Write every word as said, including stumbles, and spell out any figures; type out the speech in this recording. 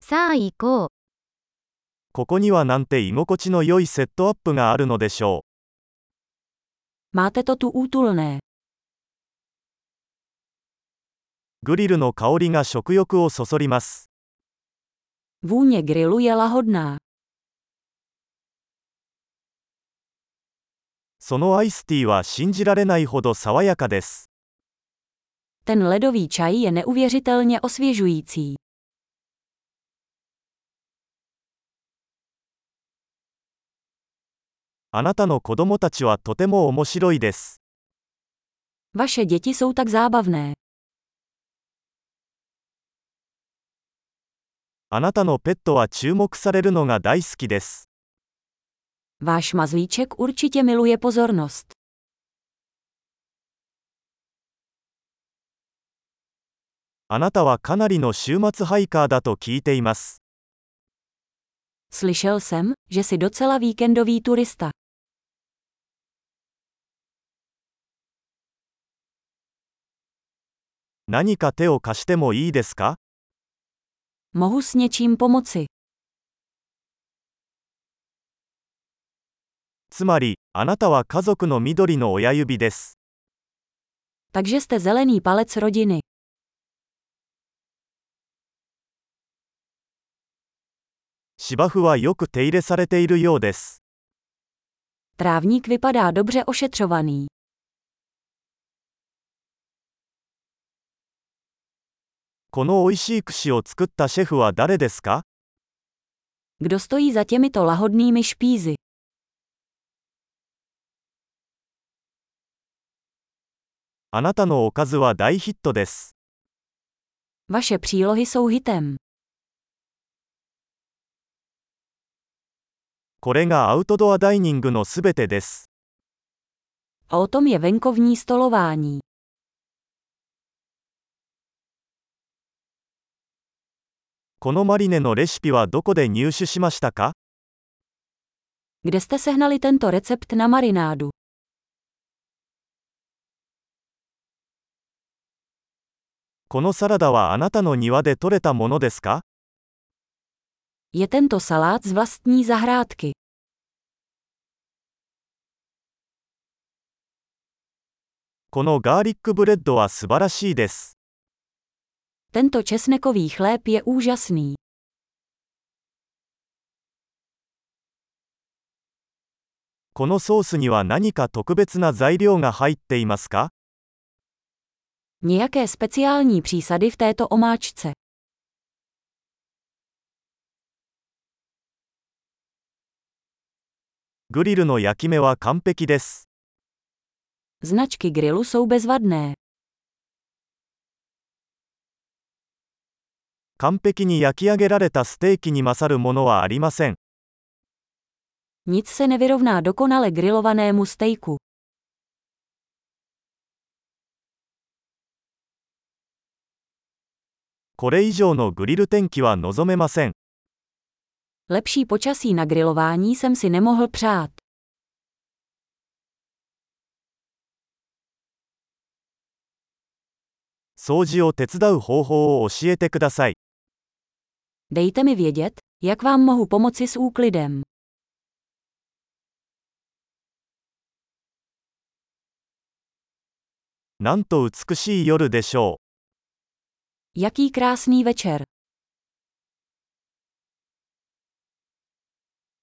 さあ行こう。 ここにはなんて居心地の良いセットアップがあるのでしょ Máte to tu útulné. う。グリルの香りが食欲をそそります。 Vůně grilu je lahodná. そのアイスティーは信じられないほど爽やかです。 Ten ledový čaj je neuvěřitelně osvěžující. あなたの子供たちはとても面白いです。 Vaše děti jsou tak zábavné. あなたのペットは注目されるのが大好きです。 Váš mazlíček určitě miluje pozornost. あなたはかなりの週末ハイカーだと聞いています。 Slyšel jsem, že jsi docela víkendový turista. 何か手を貸してもいいですか？ Mohu s něčím pomoci. つまり、あなたは家族の緑の親指です。 Takže jste zelený palec rodiny. 芝生はよく手入れされているようです。 Trávník vypadá dobře ošetřovaný. この美味しい串を作ったシェフは誰ですか？ Kdo stojí za těmito lahodnými špízy? あなたのおかずは大ヒットです。 Vaše přílohy jsou hitem. これがアウトドアダイニングのすべてです。 A o tom je venkovní stolování. このマリネのレシピはどこで入手しましたか？ Kde jste sehnali tento recept na marinádu? このサラダはあなたの庭で採れたものですか？ Je tento salát z vlastní zahrádky. このガーリックブレッドは素晴らしいです。 Tento česnekový chléb je úžasný. このソースには何か特別な材料が入っていますか？ Nějaké speciální přísady v této omáčce. グリルの焼き目は完璧です。 Značky grilu jsou bezvadné. 完璧に焼き上げられたステーキに勝るものはありません。 Nic se nevyrovná dokonale grilovanému stejku. これ以上のグリル天気は望めません。 Lepší počasí na grilování jsem si nemohl přát. 掃除を手伝う方法を教えてください。 Dejte mi vědět, jak vám mohu pomoci s úklidem. なんと美しい夜でしょう。 Jaký krásný večer.